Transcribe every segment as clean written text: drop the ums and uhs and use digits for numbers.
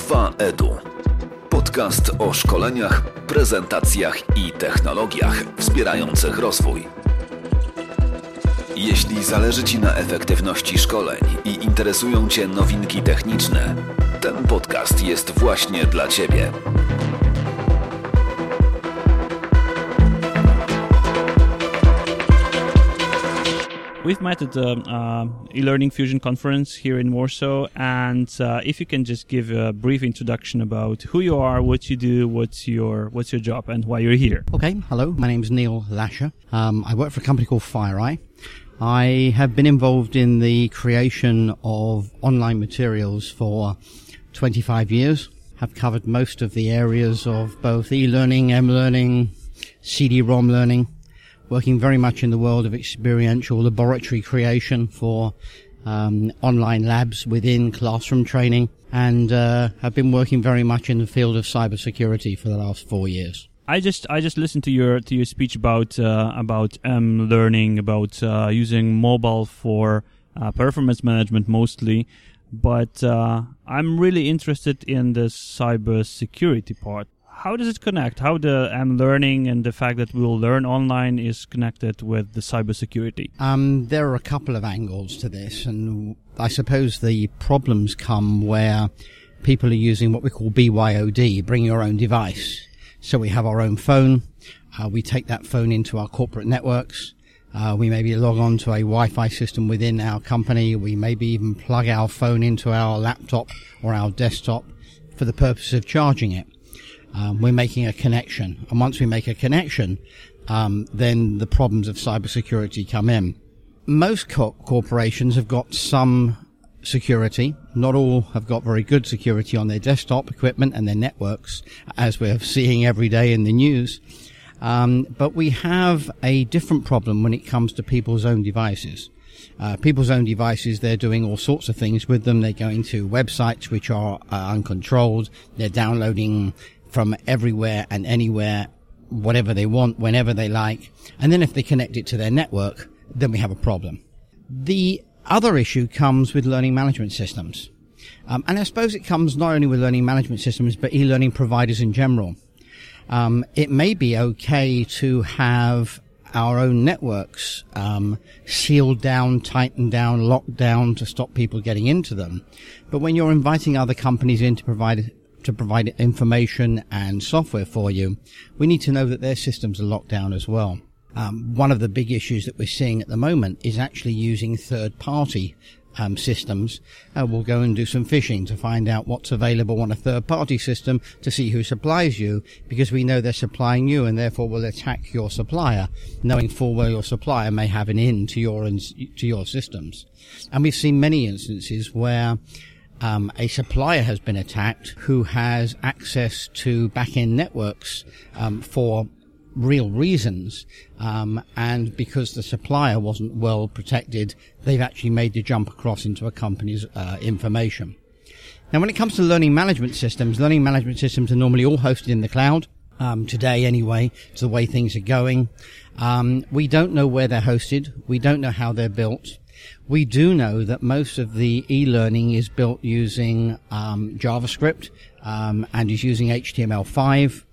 2EDU. Podcast o szkoleniach, prezentacjach i technologiach wspierających rozwój. Jeśli zależy Ci na efektywności szkoleń i interesują Cię nowinki techniczne, ten podcast jest właśnie dla Ciebie. We've met at the e-learning Fusion conference here in Warsaw, and if you can just give a brief introduction about who you are, what you do, what's your job, and why you're here. Okay, hello, my name's Neil Lasher. I work for a company called FireEye. I have been involved in the creation of online materials for 25 years. Have covered most of the areas of both e-learning, m-learning, CD-ROM learning, working very much in the world of experiential laboratory creation for online labs within classroom training, and have been working very much in the field of cybersecurity for the last 4 years. I just listened to your speech about learning, about using mobile for performance management mostly, but I'm really interested in the cybersecurity part. How does it connect? How the learning and the fact that we'll learn online is connected with the cybersecurity? There are a couple of angles to this, and I suppose the problems come where people are using what we call BYOD, bring your own device. So we have our own phone. We take that phone into our corporate networks. We maybe log on to a Wi-Fi system within our company. We maybe even plug our phone into our laptop or our desktop for the purpose of charging it. We're making a connection. And once we make a connection, then the problems of cybersecurity come in. Most corporations have got some security. Not all have got very good security on their desktop equipment and their networks, as we're seeing every day in the news. But we have a different problem when it comes to people's own devices. People's own devices, they're doing all sorts of things with them. They're going to websites which are uncontrolled. They're downloading from everywhere and anywhere, whatever they want, whenever they like. And then if they connect it to their network, then we have a problem. The other issue comes with learning management systems. And I suppose it comes not only with learning management systems, but e-learning providers in general. It may be okay to have our own networks sealed down, tightened down, locked down to stop people getting into them. But when you're inviting other companies in to provide information and software for you, we need to know that their systems are locked down as well. One of the big issues that we're seeing at the moment is actually using third-party systems. We'll go and do some phishing to find out what's available on a third-party system to see who supplies you, because we know they're supplying you, and therefore we'll attack your supplier, knowing full well your supplier may have an in to your systems. And we've seen many instances where a supplier has been attacked who has access to back-end networks for real reasons, and because the supplier wasn't well protected, they've actually made the jump across into a company's information. Now, when it comes to learning management systems are normally all hosted in the cloud. Today anyway, it's the way things are going. We don't know where they're hosted. We don't know how they're built. We do know that most of the e-learning is built using JavaScript and is using HTML5.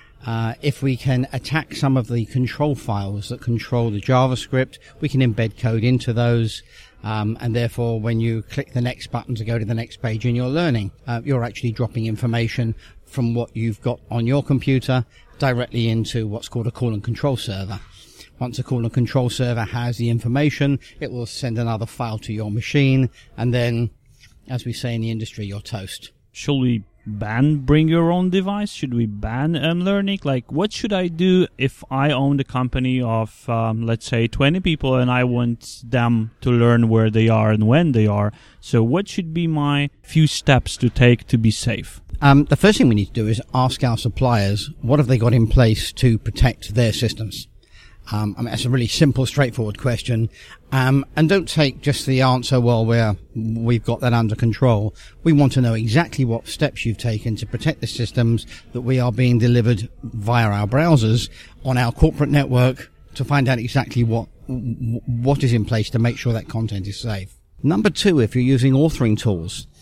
If we can attack some of the control files that control the JavaScript, we can embed code into those. And therefore, when you click the next button to go to the next page in your learning, you're actually dropping information from what you've got on your computer directly into what's called a call and control server. Once a call and control server has the information, it will send another file to your machine, and then, as we say in the industry, you're toast. Should we ban bring your own device? Should we ban learning? Like, what should I do if I own a company of, let's say, 20 people and I want them to learn where they are and when they are? So what should be my few steps to take to be safe? The first thing we need to do is ask our suppliers, what have they got in place to protect their systems? That's a really simple, straightforward question. And don't take just the answer, well, we've got that under control. We want to know exactly what steps you've taken to protect the systems that we are being delivered via our browsers on our corporate network, to find out exactly what is in place to make sure that content is safe. Number two, if you're using authoring tools,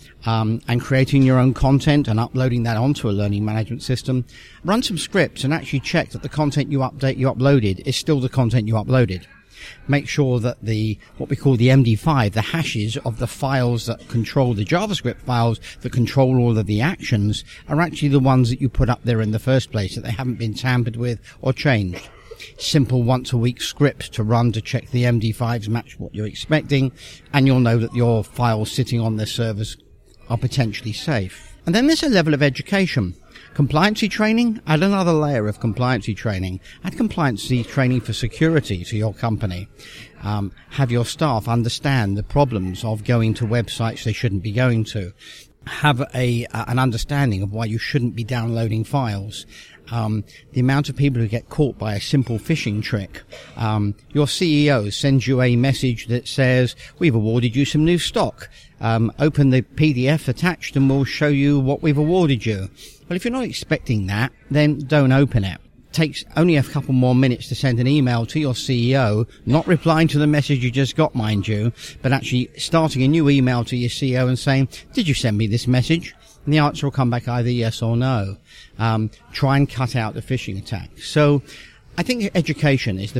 and creating your own content and uploading that onto a learning management system, run some scripts and actually check that the content you uploaded is still the content you uploaded. Make sure that what we call the MD5, the hashes of the files that control the JavaScript files that control all of the actions, are actually the ones that you put up there in the first place, that they haven't been tampered with or changed. Simple once-a-week scripts to run to check the MD5s match what you're expecting, and you'll know that your files sitting on their servers are potentially safe. And then there's a level of education. Compliancy training, add another layer of compliancy training. Add compliancy training for security to your company. Have your staff understand the problems of going to websites they shouldn't be going to. Have an understanding of why you shouldn't be downloading files. The amount of people who get caught by a simple phishing trick. Your CEO sends you a message that says, "We've awarded you some new stock. Open the PDF attached and we'll show you what we've awarded you." Well, if you're not expecting that, then don't open it. Takes only a couple more minutes to send an email to your CEO, not replying to the message you just got, mind you, but actually starting a new email to your CEO and saying, "Did you send me this message?" And the answer will come back either yes or no. Try and cut out the phishing attack. So I think education is the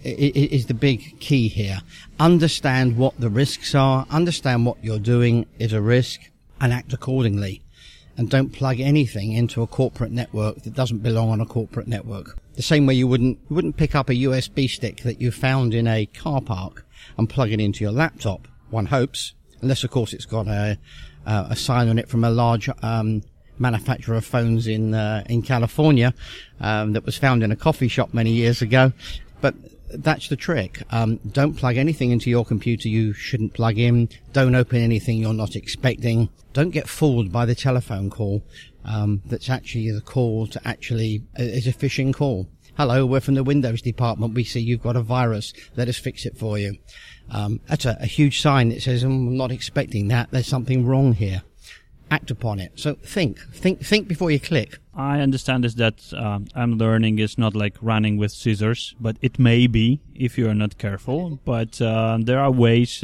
big key here. Understand what the risks are, understand what you're doing is a risk, and act accordingly. And don't plug anything into a corporate network that doesn't belong on a corporate network. The same way you wouldn't pick up a USB stick that you found in a car park and plug it into your laptop, one hopes, unless of course it's got a sign on it from a large manufacturer of phones in California that was found in a coffee shop many years ago. But that's the trick. Don't plug anything into your computer you shouldn't plug in. Don't open anything you're not expecting. Don't get fooled by the telephone call that's actually the call to actually is a phishing call. "Hello, we're from the Windows department. We see you've got a virus. Let us fix it for you." That's a huge sign that says, "I'm not expecting that. There's something wrong here." Act upon it. So think before you click. I understand is that mLearning is not like running with scissors, but it may be if you are not careful. But there are ways,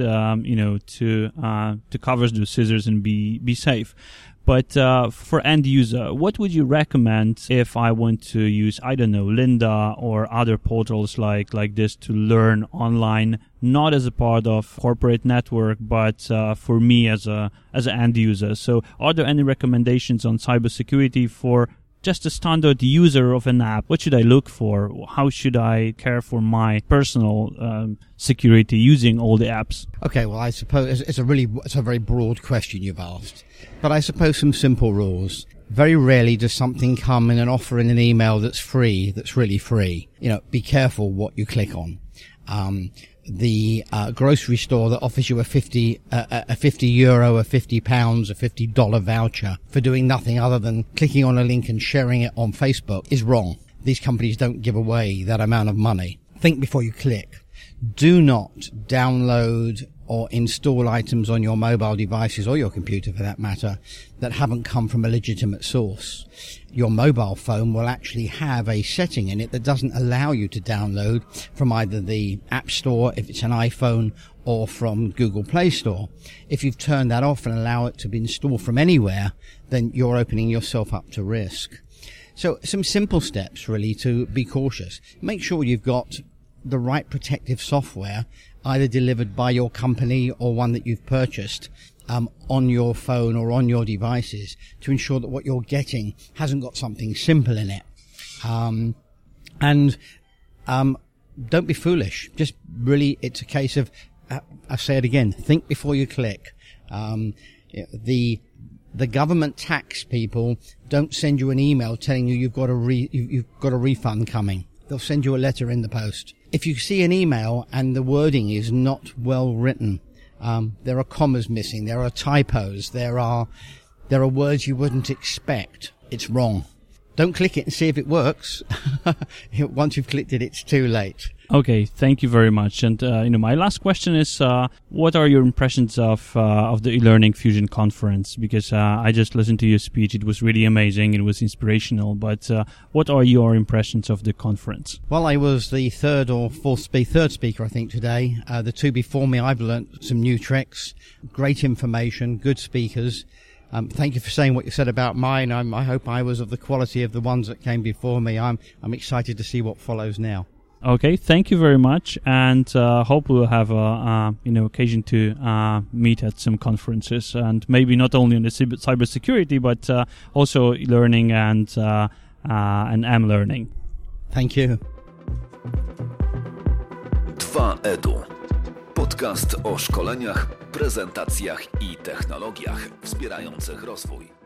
to cover those scissors and be safe. But for end user, what would you recommend if I want to use, I don't know, Lynda or other portals like this to learn online, not as a part of corporate network, but for me as an end user? So are there any recommendations on cybersecurity for just a standard user of an app? What should I look for? How should I care for my personal security using all the apps? Okay, well, I suppose it's a very broad question you've asked, but I suppose some simple rules. Very rarely does something come in an offer in an email that's free, that's really free. Be careful what you click on. The grocery store that offers you a €50, a £50, a $50 voucher for doing nothing other than clicking on a link and sharing it on Facebook is wrong. These companies don't give away that amount of money. Think before you click. Do not download or install items on your mobile devices or your computer for that matter that haven't come from a legitimate source. Your mobile phone will actually have a setting in it that doesn't allow you to download from either the App Store if it's an iPhone or from Google Play Store. If you've turned that off and allow it to be installed from anywhere, then you're opening yourself up to risk. So some simple steps really to be cautious. Make sure you've got the right protective software either delivered by your company or one that you've purchased on your phone or on your devices to ensure that what you're getting hasn't got something simple in it. And don't be foolish. Just really, it's a case of, I say it again, think before you click. The government tax people don't send you an email telling you you've got a refund coming. They'll send you a letter in the post. If you see an email and the wording is not well written, there are commas missing, there are typos, there are words you wouldn't expect, it's wrong. Don't click it and see if it works. Once you've clicked it, it's too late. Okay, thank you very much. And my last question is, what are your impressions of the eLearning Fusion conference? Because I just listened to your speech; it was really amazing. It was inspirational. But what are your impressions of the conference? Well, I was the third speaker, I think, today. The two before me, I've learnt some new tricks, great information, good speakers. Thank you for saying what you said about mine. I hope I was of the quality of the ones that came before me. I'm excited to see what follows now. Okay, thank you very much, and hope we'll have occasion to meet at some conferences, and maybe not only on the cybersecurity, but also learning and M-learning. Thank you. 2EDU. Podcast o szkoleniach, prezentacjach i technologiach wspierających rozwój.